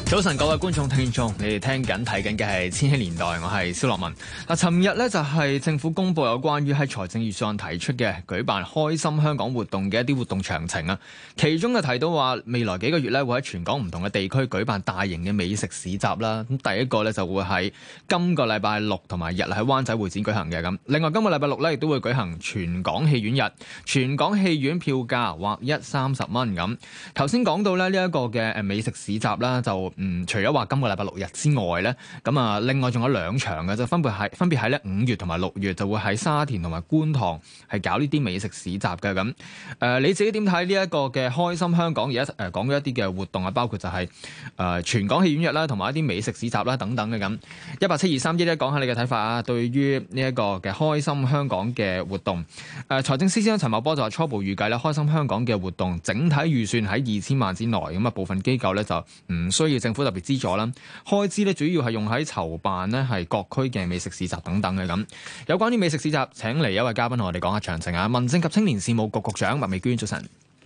早晨，各位觀眾聽眾，你哋聽緊睇緊嘅係《千禧年代》，我係蕭樂文。尋日呢，就係政府公布有關於喺財政預算案提出嘅舉辦開心香港活動嘅一啲活動詳情啊。其中就提到話，未來幾個月呢，會喺全港唔同嘅地區舉辦大型嘅美食市集啦。咁第一個呢，就會喺今個禮拜六同埋日喺灣仔會展舉行嘅咁。另外今個禮拜六呢，亦都會舉行全港戲院日，全港戲院票價劃一30蚊咁。頭先講到呢一個嘅美食市集啦，就除咗話今個禮拜六日之外咧，咁啊，另外仲有2場嘅，就分別喺咧5月同埋6月，就會喺沙田同埋觀塘係搞呢啲美食市集嘅咁。你自己點睇呢一個嘅開心香港？而家講咗一啲嘅活動啊，包括就係全港戲院日啦，同埋一啲美食市集啦等等嘅咁。17231講下你嘅睇法啊，對於呢一個嘅開心香港嘅活動。財政司司長陳茂波就話初步預計咧，開心香港嘅活動整體預算喺2000萬之內，咁啊部分機構咧就唔需要政府特別資助啦，開支咧主要係用喺籌辦咧係各區嘅美食市集等等嘅咁。有關於美食市集，請嚟一位嘉賓同我哋講下詳情啊！民政及青年事務局局長麥美娟，早晨。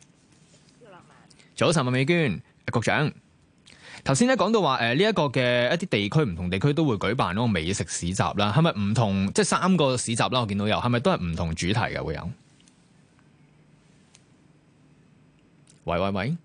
早晨，麥美娟局長。頭先咧講到話呢一個嘅一啲地區唔同地區都會舉辦嗰個美食市集啦，係咪唔同？即係3個市集啦，我見到有，係咪都係唔同主題嘅會有？喂。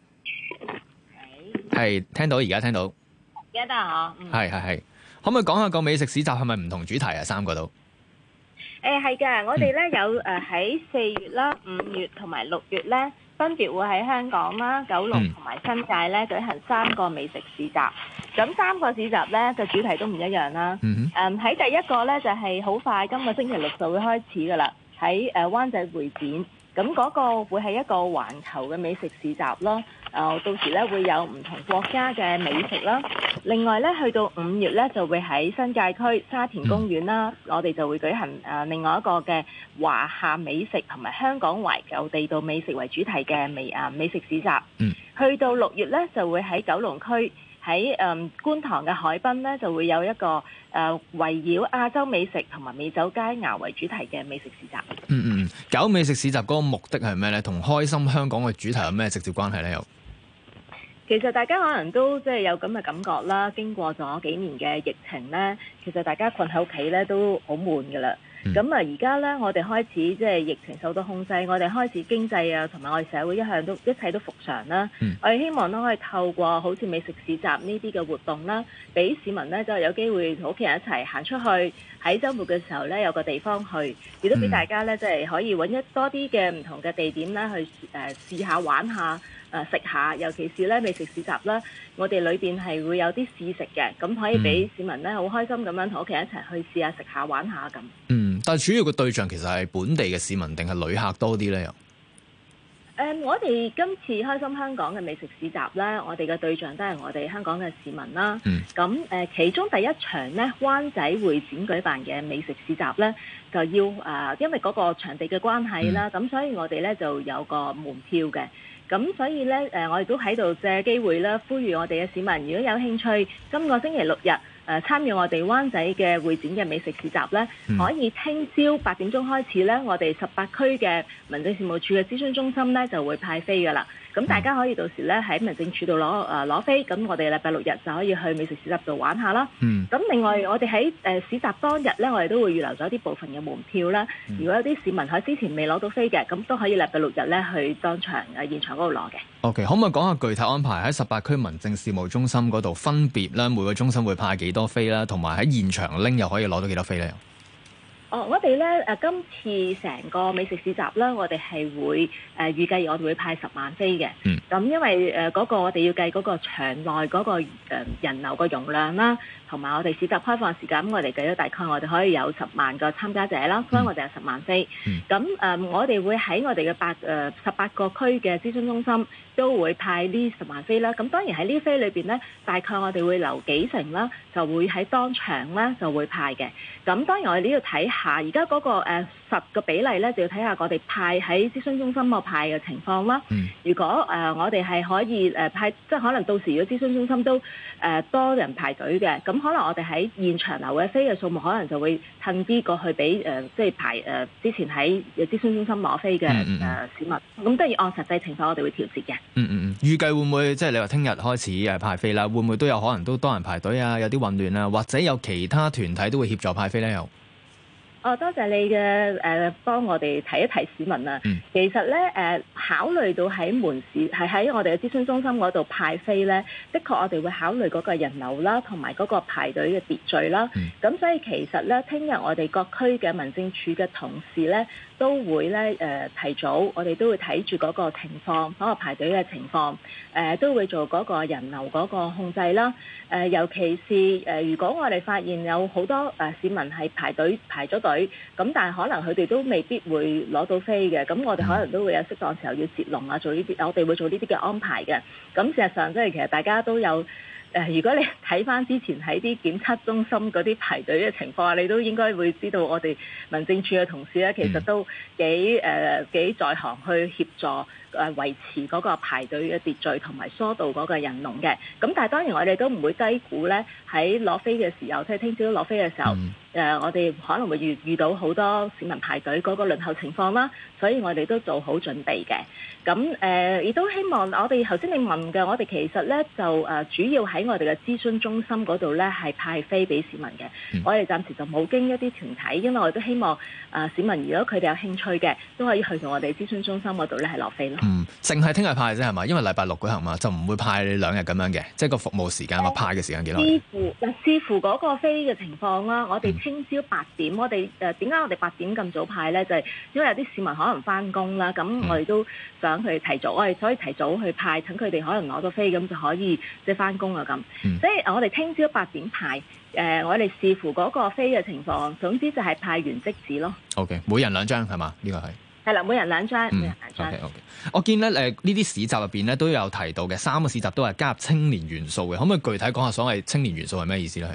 係聽到，而家聽到， 而家得啊！ 係，可唔可以講下個美食市集係咪唔同主題啊？3個都係嘅，我哋咧有喺4月啦、5月同埋6月咧，分別會喺香港啦、九龍同埋新界咧舉行3個美食市集。咁3個市集咧嘅主題都唔一樣啦。喺第一個咧就係好快，今個星期六就會開始噶啦，喺灣仔會展。咁嗰個會係一個環球嘅美食市集咯。到時咧會有唔同國家嘅美食啦。另外咧，去到5月咧就會喺新界區沙田公園啦，我哋就會舉行另外一個嘅華夏美食同埋香港懷舊地道美食為主題嘅美食市集。去到6月咧就會喺九龍區喺觀塘嘅海濱咧就會有一個圍繞亞洲美食同埋美酒佳肴為主題嘅美食市集。 搞美食市集嗰個目的係咩咧？同開心香港嘅主題有咩直接關係咧？又其實大家可能都即係有咁嘅感覺啦，經過咗幾年嘅疫情咧，其實大家困喺屋企咧都好悶㗎啦。咁而家咧，我哋開始即係疫情受到控制，我哋開始經濟啊，同埋我哋社會一切都復常啦。我哋希望都可以透過好似美食市集呢啲嘅活動啦，俾市民咧就有機會同屋企人一齊行出去，喺週末嘅時候咧有個地方去，亦都俾大家咧即係可以揾多啲嘅唔同嘅地點咧去試下玩下。食下，尤其是咧美食市集啦，我哋裏邊係會有啲試食嘅，咁可以俾市民咧好開心咁樣同屋企人一齊去試下食下玩下咁。 但係主要嘅對象其實係本地嘅市民定係旅客多啲咧？又我哋今次開心香港嘅美食市集咧，我哋嘅對象都係我哋香港嘅市民啦。咁其中第一場咧，灣仔會展舉辦嘅美食市集咧，就要因為嗰個場地嘅關係啦，咁所以我哋咧就有個門票嘅。咁所以咧，我哋都喺度借機會啦，呼籲我哋嘅市民，如果有興趣，今個星期6日參與我哋灣仔嘅會展嘅美食市集咧，可以聽朝8點鐘開始咧，我哋18區嘅民政事務處嘅諮詢中心咧就會派飛噶啦。咁大家可以到時咧喺民政處度攞飛，咁我哋禮拜6日就可以去美食市集度玩下啦。咁另外我哋喺市集當日咧，我哋都會預留咗啲部分嘅門票啦。如果有啲市民喺之前未攞到飛嘅，咁都可以禮拜6日咧去當場現場嗰度攞嘅。 OK， 可唔可以講下具體安排喺18區民政事務中心嗰度分別咧，每個中心會派幾多飛啦，同埋喺現場拎又可以攞到幾多飛咧？ 我哋咧今次成個美食市集咧，我哋係會預計我哋會派10萬飛嘅。咁因為嗰個我哋要計嗰個場內嗰個人流個容量啦，同埋我哋市集開放時間，我哋計咗大概我哋可以有10萬個參加者啦，所以我哋有10萬飛。咁我哋會喺我哋嘅18個區嘅諮詢中心都會派呢10萬飛啦。咁當然喺呢飛裏邊咧，大概我哋會留幾成啦，就會喺當場咧就會派嘅。咁當然我哋呢要睇下而家嗰個實嘅比例咧，就要睇下我哋派喺諮詢中心個派嘅情況啦。如果我哋係可以派，即係可能到時如果諮詢中心都多人排隊嘅，咁可能我哋喺現場留嘅飛嘅數目，可能就會褪啲過去俾即係排之前喺諮詢中心攞飛嘅市民。咁都要按實際情況，我哋會調節嘅。 預計會唔會即係你話聽日開始派飛啦？會唔會都有可能都多人排隊啊？有啲混亂啊，或者有其他團體都會協助派飛咧？又多謝你嘅幫我哋提一提市民啊。其實咧考慮到喺門市係喺我哋嘅諮詢中心嗰度派飛咧，的確我哋會考慮嗰個人流啦，同埋嗰個排隊嘅秩序啦。咁所以其實咧，聽日我哋各區嘅民政處嘅同事咧，都會咧提早，我哋都會睇住嗰個情況，嗰個排隊嘅情況，都會做嗰個人流嗰個控制啦。尤其是如果我哋發現有好多市民係排咗隊，咁但係可能佢哋都未必會攞到飛嘅，咁我哋可能都會有適當時候要截龍啊，做呢啲，我哋會做呢啲嘅安排嘅。咁事實上即係其實大家都有。如果你睇翻之前喺啲檢測中心嗰啲排隊嘅情況，你都應該會知道我哋民政處嘅同事咧，其實都幾在行去協助維持嗰個排隊嘅秩序同埋疏導嗰個人龍嘅。咁但係當然我哋都唔會低估咧，喺攞飛嘅時候，即係聽朝攞飛嘅時候，我哋可能會遇到好多市民排隊嗰個輪候情況啦，所以我哋都做好準備嘅。咁亦都希望我哋頭先你問嘅，我哋其實咧就主要喺我哋嘅諮詢中心嗰度咧係派飛俾市民嘅。我哋暫時就冇經一啲團體，因為我哋都希望市民如果佢哋有興趣嘅，都可以去到我哋諮詢中心嗰度咧係攞飛咯。 淨係聽日派啫係嘛？因為禮拜六舉行嘛，就唔會派2日咁樣嘅，即係個服務時間或派嘅時間幾耐？ 視乎嗰個飛嘅情況啦。我哋聽朝8點，我哋點解我哋8點咁早派咧？就係因為有啲市民可能翻工啦，咁我哋都想佢提早，我哋所以提早去派，等佢哋可能攞到飛，咁就可以即係翻工啊咁。所以我哋聽朝8點派，我哋視乎嗰個飛嘅情況，總之就係派完即止咯。 OK， 每人2張係嘛？呢個係啦，每人2張，每人2張。 OK。我見咧呢啲市集入邊咧都有提到嘅3個市集都係加入青年元素嘅，可唔可以具體講下所謂青年元素係咩意思咧？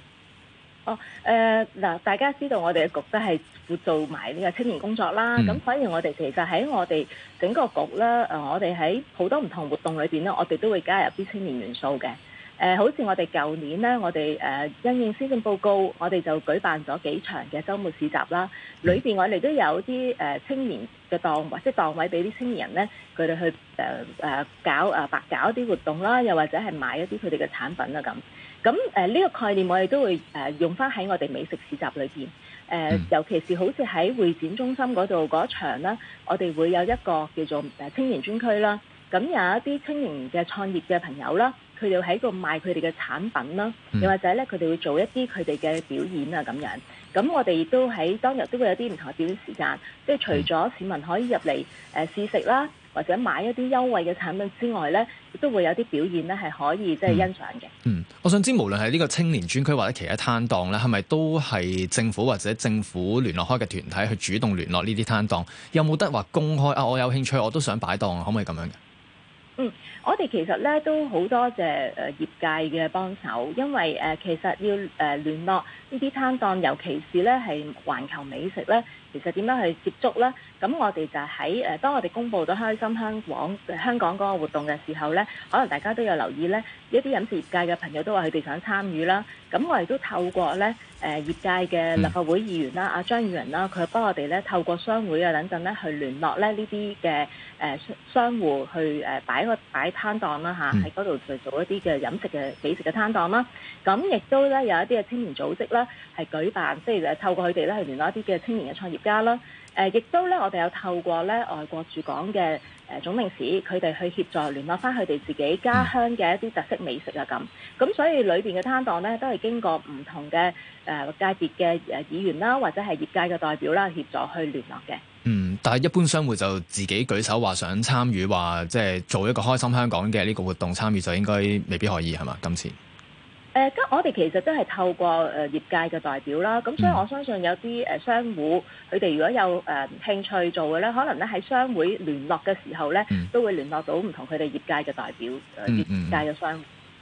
大家知道我哋嘅局都係會做埋呢個青年工作啦，咁所以我哋其實喺我哋整個局咧，我哋喺好多唔同活動裏邊咧，我哋都會加入啲青年元素嘅。好似我哋舊年咧，我哋因應施政報告，我哋就舉辦咗幾場嘅週末市集啦。裏邊我哋都有啲青年嘅檔或者檔位俾啲青年人咧，佢哋去搞白搞一啲活動啦，又或者係買一啲佢哋嘅產品啊咁。咁呢個概念我哋都會用翻喺我哋美食市集裏邊。尤其是好似喺會展中心嗰度嗰場啦，我哋會有一個叫做青年專區啦。咁有一啲青年嘅創業嘅朋友啦，佢哋喺度賣佢哋嘅產品啦，又或者咧佢哋會做一啲佢哋嘅表演啊咁樣。咁我哋亦都喺當日都會有啲唔同嘅表演時間，即係除咗市民可以入嚟試食啦，或者買一啲優惠嘅產品之外咧，亦都會有啲表演咧係可以即係欣賞嘅。 我想知無論係呢個青年專區或者其他攤檔咧，係咪都係政府或者政府聯絡開嘅團體去主動聯絡呢啲攤檔？有冇得話公開啊？我有興趣，我都想擺檔，可唔可以咁樣嘅？ 我哋其實咧都好多謝業界嘅幫手，因為其實要聯絡呢啲攤檔，尤其是咧係環球美食咧，其實點樣去接觸咧？咁我哋就喺當我哋公布咗開心香港嗰個活動嘅時候咧，可能大家都有留意咧，一啲飲食業界嘅朋友都話佢哋想參與啦。咁我哋都透過咧業界嘅立法會議員啦，阿張宇人啦，佢幫我哋咧透過商會啊等等咧去聯絡咧呢啲嘅商戶去擺攤檔啦嚇，喺嗰度去做一啲嘅飲食嘅美食嘅攤檔啦。咁亦都咧有一啲嘅青年組織啦，係舉辦即係透過佢哋咧去聯絡一啲嘅青年嘅創業家啦。亦都咧，我哋有透過咧外國駐港嘅總領事，佢哋去協助聯絡翻佢哋自己家鄉嘅一啲特色美食啊咁。咁所以裏邊嘅攤檔咧，都係經過唔同嘅界別嘅議員啦，或者係業界嘅代表啦，協助去聯絡嘅。 但係一般商戶就自己舉手話想參與，話即係做一個開心香港嘅呢個活動參與，就應該未必可以係嘛？今次我哋其實都係透過業界嘅代表啦，咁所以我相信有啲商戶佢哋如果有興趣做嘅咧，可能咧喺商會聯絡嘅時候咧，都會聯絡到唔同佢哋業界嘅代表，業界嘅商戶。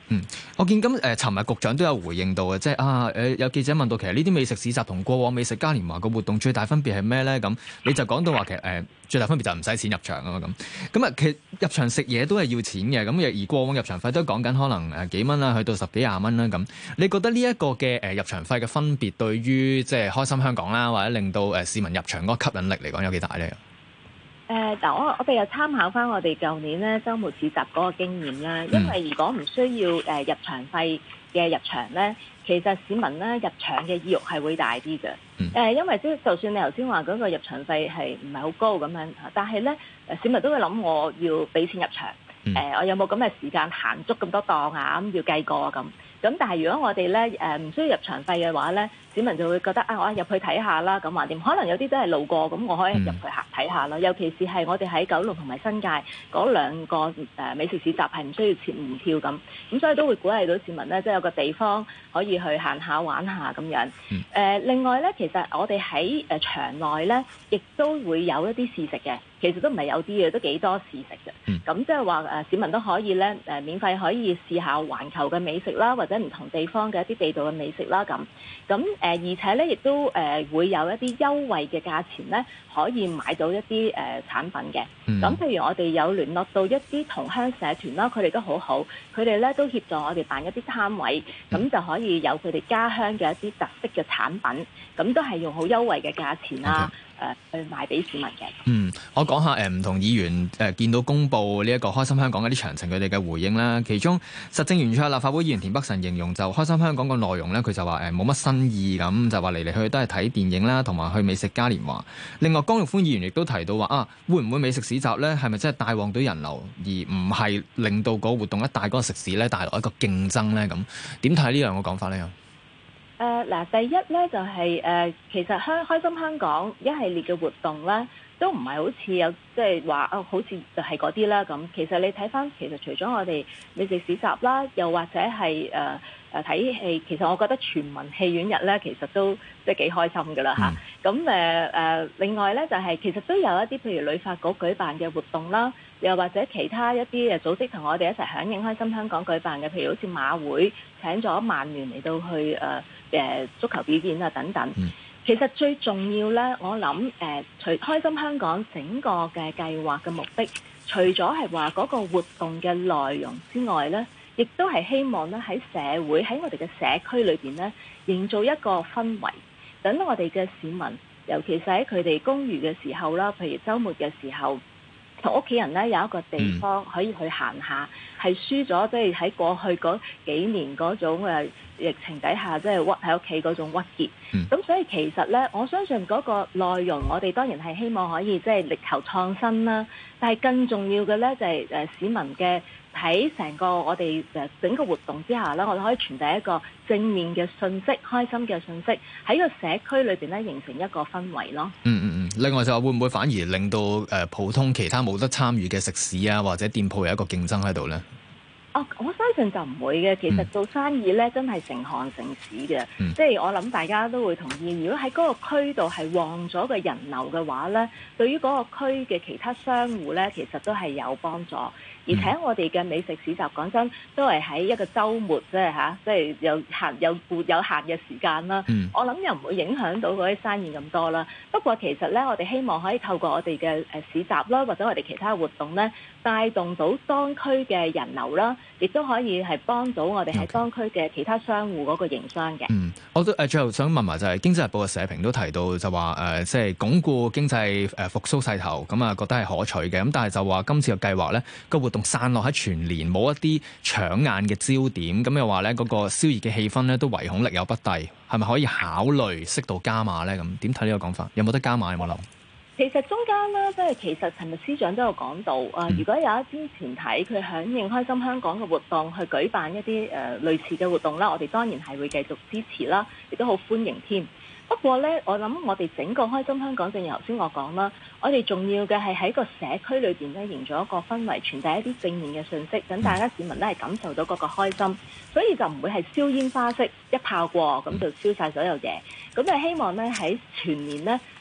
我見尋日局長都有回應到嘅，即係有記者問到其實呢啲美食市集同過往美食嘉年華個活動最大分別係咩咧？咁你就講到話其實最大分別就係唔使錢入場啊嘛咁其實入場食嘢都係要錢嘅，咁而過往入場費都講緊可能幾蚊啦，去到10幾20蚊啦咁。你覺得呢一個嘅入場費嘅分別對於即係開心香港啦，或者令到市民入場嗰個吸引力嚟講有幾大咧？ 嗱，我哋又參考翻我哋舊年咧週末市集嗰個經驗啦，因為如果唔需要入場費嘅入場咧，其實市民咧入場嘅意欲係會大啲嘅。因為就算你頭先話嗰個入場費係唔係好高咁樣，但係咧市民都會諗我要俾錢入場，我有冇咁嘅時間行足咁多檔啊？咁要計過啊咁。咁但係如果我哋咧唔需要入場費嘅話咧，市民就會覺得我入去睇下啦，咁話掂？可能有啲都係路過，咁我可以入去睇下啦。尤其是係我哋喺九龍同埋新界嗰兩個美食市集係唔需要錢門票咁所以都會鼓勵到市民咧，即係有個地方可以去行下玩下咁樣。另外咧，其實我哋喺場內咧，亦都會有一啲試食嘅。其實都唔係有啲嘅，都幾多試食嘅。咁即係話市民都可以咧免費可以試下環球嘅美食啦，或者唔同地方嘅一啲地道嘅美食啦咁。而且咧亦都會有一啲優惠嘅價錢咧，可以買到一啲產品嘅。咁譬如我哋有聯絡到一啲同鄉社團啦，佢哋都好好，佢哋咧都協助我哋辦一啲攤位，咁就可以有佢哋家鄉嘅一啲特色嘅產品，咁都係用好優惠嘅價錢啦。去賣俾市民嘅。 我講下唔同議員見到公布呢一個開心香港嘅啲詳情，佢哋嘅回應啦。其中實政圓桌立法會議員田北辰形容就開心香港個內容咧，佢就話冇乜新意咁，就話嚟嚟去去都係睇電影啦，同埋去美食嘉年華。另外江玉歡議員亦都提到話會唔會美食市集咧係咪真係帶旺到人流，而唔係令到個活動一帶嗰個食肆咧帶來一個競爭咧？咁點睇呢兩個講法咧？ 第一咧就係其實開心香港一系列嘅活動咧，都唔係好似有即係話好似就係嗰啲啦咁。其實你睇翻，其實除咗我哋美食市集啦，又或者係睇戲，其實我覺得全民戲院日咧，其實都即係幾開心㗎啦嚇。咁另外咧就係其實都有一啲譬如旅發局舉辦嘅活動啦，又或者其他一啲組織同我哋一齊響應開心香港舉辦嘅，譬如好似馬會請咗曼聯嚟到去足球表演啊等等。其實最重要咧，我諗除開心香港整個嘅計劃嘅目的，除咗係話嗰個活動嘅內容之外咧，亦都係希望咧喺社會喺我哋嘅社區裏邊咧，營造一個氛圍，等我哋嘅市民，尤其是喺佢哋公餘嘅時候啦，譬如週末嘅時候，同屋企人咧有一個地方可以去行下，係輸咗即係喺過去嗰幾年嗰種疫情底下，即係屈喺屋企嗰種鬱結。咁所以其實咧，我相信嗰個內容，我哋當然係希望可以即係力求創新啦。但係更重要嘅咧，就係市民嘅喺成個我哋整個活動之下咧，我哋可以傳遞一個正面嘅信息、開心嘅信息，喺個社區裏邊咧形成一個氛圍咯。 另外就話會唔會反而令到普通其他冇得參與嘅食肆啊，或者店鋪有一個競爭喺度咧？ 我相信就唔會嘅。其實做生意咧，真係成行成市嘅。即係我諗大家都會同意，如果喺嗰個區度係旺咗個人流嘅話咧，對於嗰個區嘅其他商戶咧，其實都係有幫助。而且我哋嘅美食市集講真，都係喺一個週末即係有限嘅時間啦。我諗又唔會影響到嗰啲生意咁多啦。不過其實咧，我哋希望可以透過我哋嘅市集啦，或者我哋其他活動咧，帶動到當區嘅人流啦，亦都可以係幫到我哋喺當區嘅其他商戶嗰個營商嘅。 我都最後想問埋就係《經濟日報》嘅社評都提到就話即係鞏固經濟復甦勢頭，咁覺得係可取嘅。咁但係就話今次嘅計劃咧，個活動散落喺全年，冇一啲搶眼嘅焦點，咁又話咧嗰個燒熱嘅氣氛咧都唯恐力有不逮，係咪可以考慮適度加碼咧？咁點睇呢個講法？有冇得加碼？有冇諗？ 其實中間咧，即係其實尋日司長都有講到如果有一啲團體佢響應開心香港嘅活動去舉辦一啲類似嘅活動啦，我哋當然係會繼續支持啦，亦都好歡迎添。不過咧，我諗我哋整個開心香港，正如頭先我講啦，我哋重要嘅係喺個社區裏邊咧，營造一個氛圍，傳遞一啲正面嘅信息，等大家市民咧係感受到嗰個開心，所以就唔會係燒煙花式一炮過咁就燒晒所有嘢。咁就希望咧喺全年咧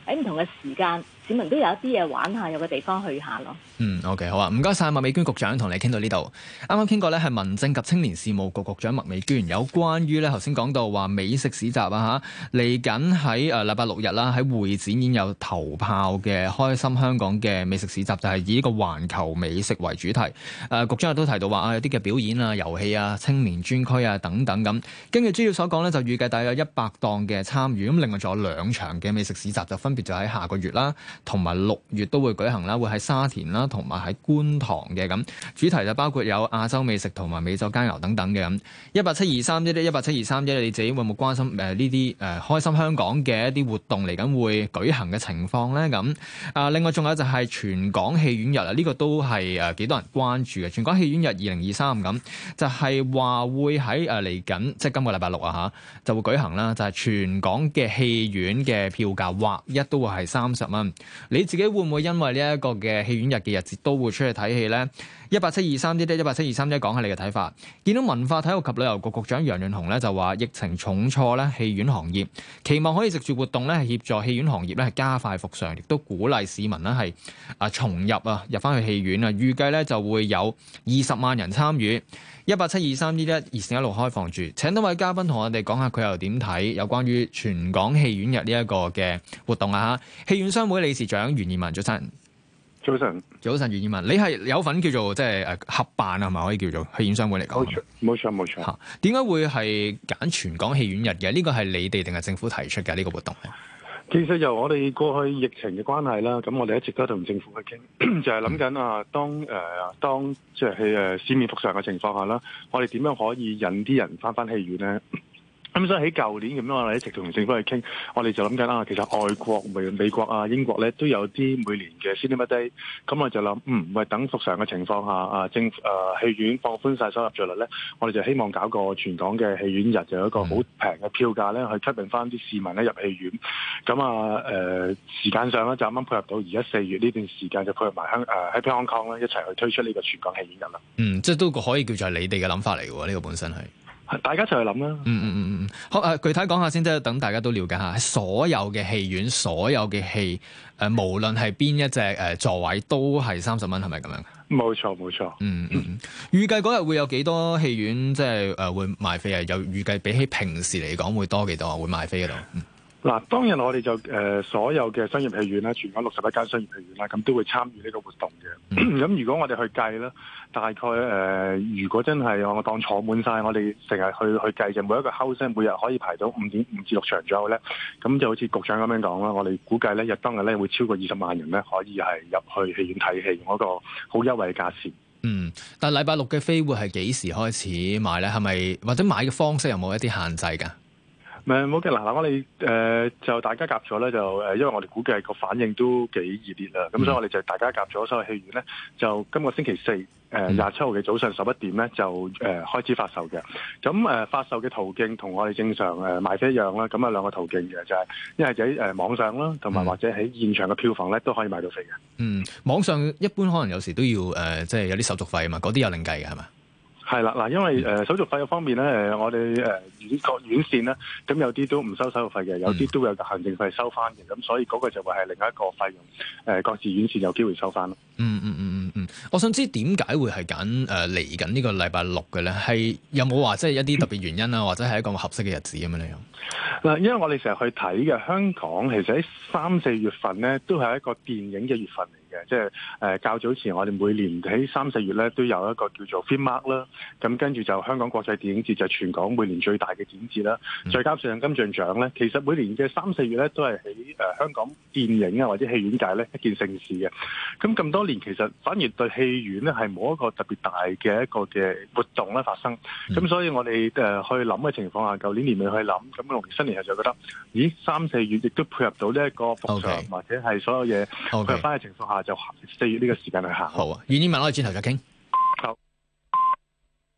喺唔同嘅時間，市民都有一啲嘢玩下，有個地方去下咯。 OK， 好啊，唔該晒麥美娟局長，同你傾到呢度。啱啱傾過咧，係民政及青年事務局局長麥美娟，有關於咧頭先講到話美食市集啊嚇，嚟緊喺禮拜六日啦，喺會展已經有頭炮嘅開心香港嘅美食市集，就係以呢個環球美食為主題。局長亦都提到話有啲嘅表演啊、遊戲啊、青年專區啊等等咁。根據資料所講咧，就預計大約100檔嘅參與，咁另外仲有2場嘅美食市集，就分別就喺下個月啦，同埋6月都會舉行啦，會喺沙田啦，同埋喺觀塘嘅咁，主題就包括有亞洲美食同埋美酒佳肴等等嘅咁。1872311，1872311，你自己會唔會關心呢啲開心香港嘅一啲活動嚟緊會舉行嘅情況咧？咁另外仲有就係全港戲院日啊，呢個都係幾多人關注嘅。全港戲院日2023咁，就係話會喺嚟緊，即係今個禮拜六啊嚇，就會舉行啦。就係全港嘅戲院嘅票價劃一都會係30蚊。你自己會唔會因為呢一個嘅戲院日嘅日子都會出去睇戲呢？1872311，1872311，講下你嘅睇法。見到文化體育及旅遊局局長楊潤雄咧就話，疫情重挫咧戲院行業，期望可以藉住活動咧係協助戲院行業咧係加快復常，亦都鼓勵市民咧係重入翻去戲院啊。預計咧就會有20萬人參與。1872311，熱線一路開放住。請多位嘉賓同我哋講下佢又點睇有關於全港戲院日呢一個嘅活動啊！戲院商會理事長袁彥文，早晨。 早晨， 袁彥文，你係有份叫做即係合辦啊，係咪可以叫做戲院商會嚟講？ 冇錯。 嚇，點解會係揀全港戲院日嘅？呢個係你哋定係政府提出嘅呢個活動咧？ 其實由我哋過去疫情嘅關係啦，咁我哋一直都同政府去傾，就係諗緊啊，當即係市面復常嘅情況下啦，我哋點樣可以引啲人翻戲院咧？咁所以喺舊年咁樣，我哋一直同政府去傾，我哋就諗緊其實外國美國啊、英國咧都有啲每年嘅 Cinema Day， 咁我就諗，等復常嘅情況下，戲院放寬晒收入稅率咧，我哋就希望搞個全港嘅戲院日，就有一個好平嘅票價咧，去吸引翻啲市民咧入戲院。咁時間上咧就啱啱配合到而家4月呢段時間，就配合埋Happy Hong Kong 咧一齊去推出呢個全港戲院日啦。 即係都可以叫做係你哋嘅諗法嚟嘅喎，呢個本身係。 大家一齊去諗啦。 好，具體講下先，即係等大家都了解下，所有嘅戲院、所有嘅戲，無論係邊一隻座位都係30蚊，係咪咁樣？ 冇錯。 預計嗰日會有幾多戲院即係會賣飛啊？又預計比起平時嚟講會多幾多啊？會賣飛嗰度？ 嗱，當日我哋就所有嘅商業戲院啦，全港61間商業戲院啦，咁都會參與呢個活動嘅。咁如果我哋去計啦，大概如果真係我當坐滿晒，我哋成日去計就每一個 house 每日可以排到5.5至6場左右咧，咁就好似局長咁樣講啦，我哋估計咧當日咧會超過20萬人咧可以係入去戲院睇戲，用一個好優惠嘅價錢。 但係禮拜六嘅飛會係幾時開始賣咧？係咪或者買嘅方式有冇一啲限制㗎？ 冇嘅，嗱，我哋就大家夾咗咧，就因為我哋估計個反應都幾熱烈啦，咁所以我哋就大家夾咗所有戲院咧，就今個星期4 27號嘅早上11點咧就開始發售嘅。咁發售嘅途徑同我哋正常賣飛一樣啦，咁有2個途徑嘅，就係一係就喺網上啦，同埋或者喺現場嘅票房咧都可以買到飛嘅。 網上一般可能有時都要即係有啲手續費啊嘛，嗰啲有另計嘅係嘛？ 係啦，嗱，因為手續費嘅方面咧，我哋各院線咧，咁有啲都唔收手續費嘅，有啲都會有行政費收翻嘅，咁所以嗰個就會係另一個費用，各自院線有機會收翻咯。 我想知點解會係揀嚟緊呢個禮拜六嘅咧？係有冇話即係一啲特別原因啊，或者係一個合適嘅日子咁樣咧？ 嗱，因為我哋成日去睇嘅香港，其實喺3、4月份咧，都係一個電影嘅月份嚟嘅，即係較早前我哋每年喺3、4月咧都有一個叫做 Filmmark 啦，咁跟住就香港國際電影節就全港每年最大嘅展節啦，再加上金像獎咧，其實每年嘅3、4月咧都係喺香港電影啊或者戲院界咧一件盛事嘅。咁多年其實反而對戲院咧係冇一個特別大嘅一個嘅活動咧發生，咁所以我哋去諗嘅情況下，舊年年尾去諗，咁農曆新年就覺得，咦3、4月亦都配合到呢一個復常或者係所有嘢配合翻嘅情況下，就4月呢個時間去行。 好啊，袁彥文，我哋轉頭再傾。 好。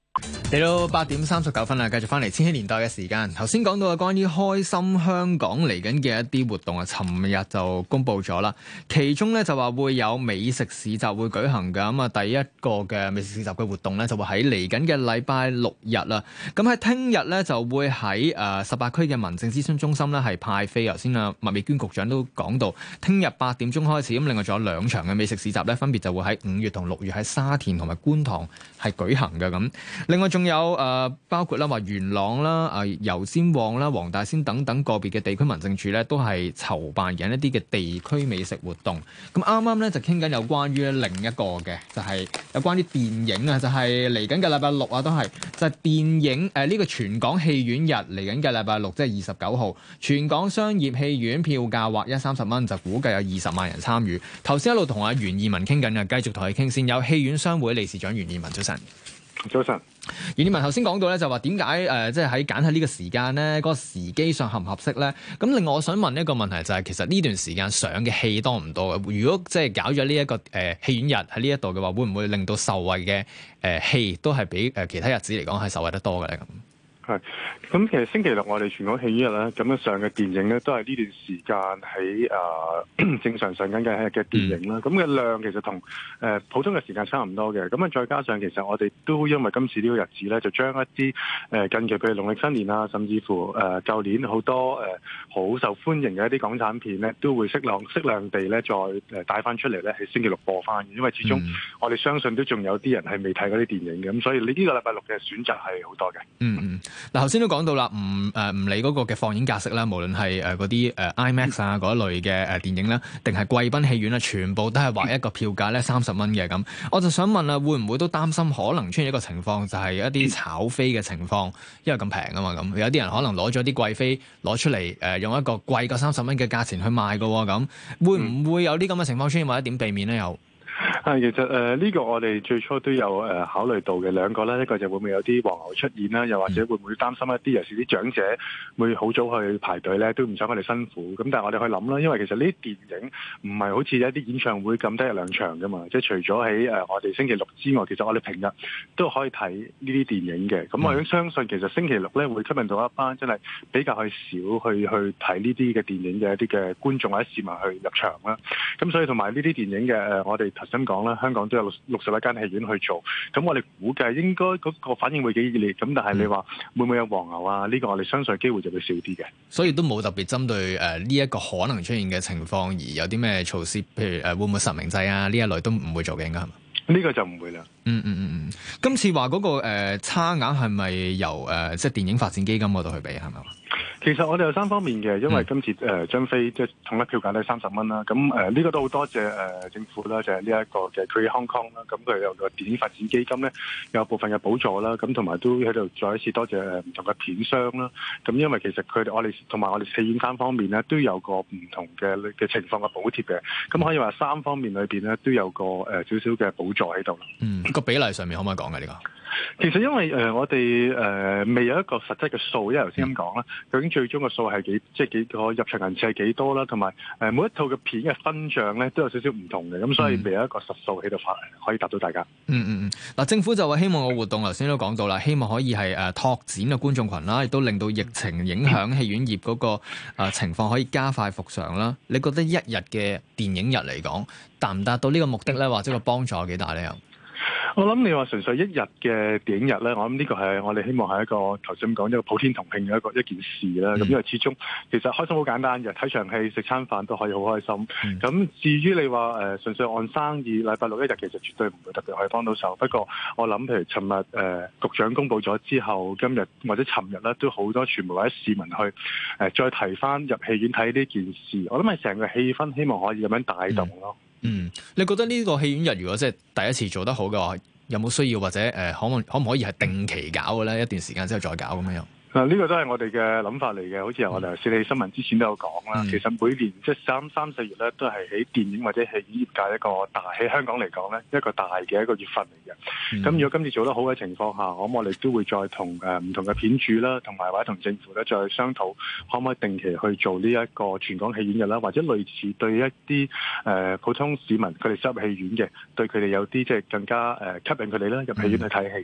嚟到8:39啦，繼續翻嚟千禧年代嘅時間。頭先講到嘅關於開心香港嚟緊嘅一啲活動啊，尋日就公布咗啦。其中咧就話會有美食市集會舉行嘅，咁啊第一個嘅美食市集嘅活動咧就會喺嚟緊嘅禮拜六日啦。咁喺聽日咧就會喺18區嘅民政諮詢中心咧係派飛。頭先啊麥美娟局長都講到，聽日8點鐘開始。咁另外仲有2場嘅美食市集咧，分別就會喺5月同6月喺沙田同埋觀塘係舉行嘅咁。另外仲有包括啦話元朗啦、油尖旺啦、黃大仙等等個別嘅地區民政處咧，都係籌辦緊一啲嘅地區美食活動。咁啱啱咧就傾緊有關於另一個嘅，就係有關於電影啊，就係嚟緊嘅禮拜六啊，都係就係電影呢個全港戲院日嚟緊嘅禮拜六，即係29號，全港商業戲院票價劃一30蚊，就估計有20萬人參與。頭先一路同阿袁義文傾緊啊，繼續同佢傾先。有戲院商會理事長袁義文，早晨。 早晨。 袁義文頭先講到咧，就話點解即係喺揀喺呢個時間咧，嗰個時機上合唔合適咧？咁另外我想問一個問題就係，其實呢段時間上嘅戲多唔多嘅？如果即係搞咗呢一個戲院日喺呢一度嘅話，會唔會令到受惠嘅戲都係比其他日子嚟講係受惠得多嘅咧？ 係，咁其實星期六我哋全港戲院日咧，咁樣上嘅電影咧，都係呢段時間喺正常上緊嘅電影啦。咁嘅量其實同普通嘅時間差唔多嘅。咁啊，再加上其實我哋都因為今次呢個日子咧，就將一啲近期譬如農曆新年啊，甚至乎舊年好多好受歡迎嘅一啲港產片咧，都會適量地咧再帶翻出嚟咧，喺星期六播翻嘅。因為始終我哋相信都仲有啲人係未睇嗰啲電影嘅，咁所以呢個禮拜六嘅選擇係好多嘅。 嗱，頭先都講到啦，唔理嗰個嘅放映格式啦，無論係嗰啲IMAX 啊嗰一類嘅電影啦，定係貴賓戲院啦，全部都係劃一個票價咧30蚊嘅咁。我就想問啦，會唔會都擔心可能出現一個情況，就係一啲炒飛嘅情況，因為咁平啊嘛咁，有啲人可能攞咗啲貴飛攞出嚟用一個貴過30蚊嘅價錢去賣㗎喎咁，會唔會有啲咁嘅情況出現，或者點避免咧？又？ 其實呢個我哋最初都有考慮到嘅兩個啦，一個就會唔會有啲黃牛出現啦，又或者會唔會擔心一啲尤其是啲長者會好早去排隊咧，都唔想佢哋辛苦。咁但係我哋去諗啦，因為其實呢啲電影唔係好似一啲演唱會咁得1-2場噶嘛，即係除咗喺我哋星期六之外，其實我哋平日都可以睇呢啲電影嘅。咁我都相信其實星期六咧會吸引到一班真係比較去少去睇呢啲嘅電影嘅一啲嘅觀眾或者市民去入場啦。咁所以同埋呢啲電影嘅我哋頭先講啦，香港都有61間戲院去做，咁我哋估計應該嗰個反應會幾熱烈，咁但係你話會唔會有黃牛啊？呢個我哋相信機會就會少啲嘅。 所以都冇特別針對呢一個可能出現嘅情況而有啲咩措施，譬如會唔會實名制啊？呢一類都唔會做嘅，應該係嘛？呢個就唔會啦。 今次話嗰個差額係咪由即係電影發展基金嗰度去俾係咪？ 其實我哋有3方面嘅，因為今次張飛即係統一票價都係30蚊啦。咁呢個都好多謝政府啦，就係呢一個嘅 Create Hong Kong 啦。咁佢有個電影發展基金咧，有部分嘅補助啦。咁同埋都喺度再一次多謝唔同嘅片商啦。咁因為其實我哋同埋我哋戲院3方面咧，都有個唔同嘅情況嘅補貼嘅。咁可以話3方面裏邊咧都有個少少嘅補助喺度啦。 個比例上面可唔可以講嘅呢個？ 其實因為我哋未有一個實質嘅數，因為頭先咁講啦，究竟最終嘅數係幾個入場人次係幾多啦，同埋每一套嘅片嘅分賬咧都有少少唔同嘅，咁所以未有一個實數喺度可以答到大家。 嗱，政府就話希望個活動頭先都講到啦，希望可以係拓展嘅觀眾群啦，亦都令到疫情影響戲院業嗰個情況可以加快復常啦。你覺得一日嘅電影日嚟講，達唔達到呢個目的咧，或者個幫助有幾大咧？ 我諗你話純粹一日嘅電影日咧，我諗呢個係我哋希望係一個頭先講一個普天同慶嘅一件事啦。咁因為始終其實開心好簡單嘅，睇場戲食餐飯都可以好開心。咁至於你話純粹按生意，禮拜六一日其實絕對唔會特別可以幫到手。不過我諗譬如尋日局長公布咗之後，今日或者尋日咧都好多傳媒或者市民去再提翻入戲院睇呢件事。我諗係成個氣氛希望可以咁樣帶動咯。 你覺得呢個戲院日如果即係第一次做得好嘅話，有冇需要或者可唔可以係定期搞嘅咧？一段時間之後再搞咁樣？ 呢個都係我哋嘅諗法嚟嘅，好似我哋四起新聞之前都有講啦。其實每年即係3、4月咧，都係喺電影或者戲院業界一個大喺香港嚟講咧一個大嘅一個月份嚟嘅。咁如果今次做得好嘅情況下，咁我哋都會再同唔同嘅片主啦，同埋或者同政府咧再商討，可唔可以定期去做呢一個全港戲院日啦，或者類似對一啲普通市民佢哋入戲院嘅，對佢哋有啲即係更加吸引佢哋啦入戲院去睇戲咁樣咯。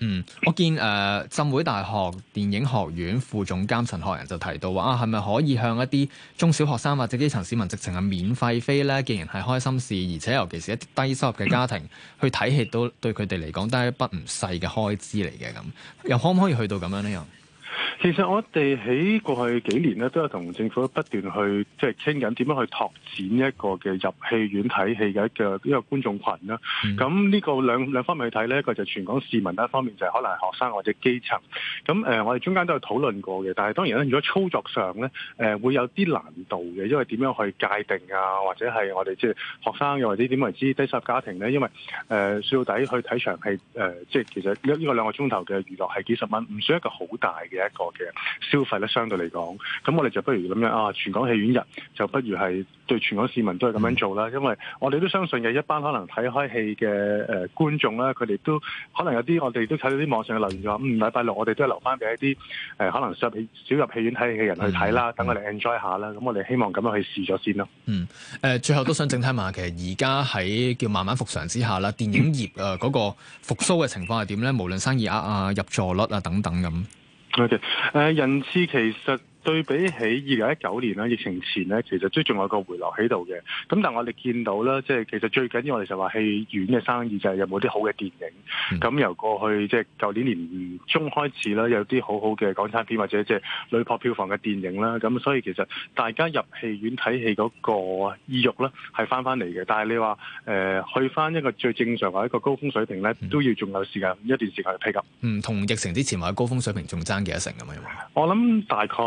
我見浸會大學電影學院副總監陳學仁就提到話係咪可以向一啲中小學生或者基層市民直情係免費飛咧？既然係開心事，而且尤其是一啲低收入嘅家庭去睇戲，都對佢哋嚟講都係一筆唔細嘅開支嚟嘅。咁又可唔可以去到咁樣呢？又？ 其實我哋喺過去幾年咧，都有同政府不斷去即係傾緊點樣去拓展一個嘅入戲院睇戲嘅一個觀眾群啦。咁呢個兩方面去睇呢，一個就全港市民，一方面就係可能係學生或者基層。咁我哋中間都有討論過嘅，但係當然咧，如果操作上呢，會有啲難度嘅，因為點樣去界定啊，或者係我哋即係學生又或者點為之低收入家庭呢？因為說到底去睇場戲即係其實呢個2個鐘頭嘅娛樂係幾十蚊，唔算一個好大嘅一個嘅消費咧，相對嚟講，咁我哋就不如咁樣啊，全港戲院日就不如係對全港市民都係咁樣做啦。因為我哋都相信嘅一班可能睇開戲嘅觀眾啦，佢哋都可能有啲我哋都睇到啲網上嘅留言就話，禮拜六我哋都係留翻俾一啲可能少入戲院睇戲嘅人去睇啦，等我哋 enjoy 下啦。咁我哋希望咁樣去試咗先咯。 最後都想整體問下，其實而家喺叫慢慢復常之下啦，電影業嗰個復甦嘅情況係點咧？無論生意額啊、入座率啊等等咁。 Okay. 人次其實對比起2019年啦，疫情前咧，其實都仲有個回落喺度嘅。咁但係我哋見到啦，即係其實最緊要我哋就話戲院嘅生意就係有冇啲好嘅電影。咁由過去即係舊年年中開始啦，有啲好好嘅港產片或者即係屢破票房嘅電影啦。咁所以其實大家入戲院睇戲嗰個意欲咧係翻嚟嘅。但係你話去翻一個最正常或者一個高峰水平咧，都要仲有一段時間去 pick up。 同疫情之前或者高峰水平仲爭幾多成咁樣？ 我諗大概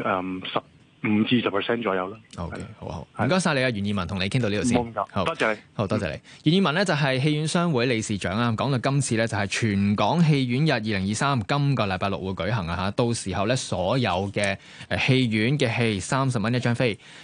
15%至10%左右啦。 OK， 好，唔該晒你啊，袁以文，同你傾到呢度先。 好，多謝你。 好多謝你。袁以文呢就係戲院商會理事長啊，講到今次呢就係全港戲院日2023，今個禮拜六會舉行啊嚇，到時候呢所有嘅戲院嘅戲30蚊一張飛。